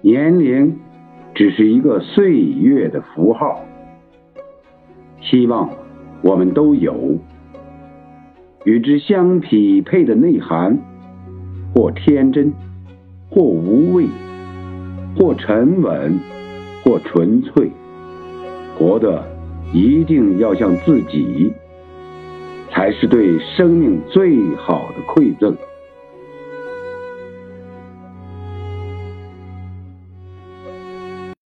年龄只是一个岁月的符号。希望我们都有与之相匹配的内涵，或天真，或无畏，或沉稳，或纯粹。活得一定要像自己，才是对生命最好的馈赠。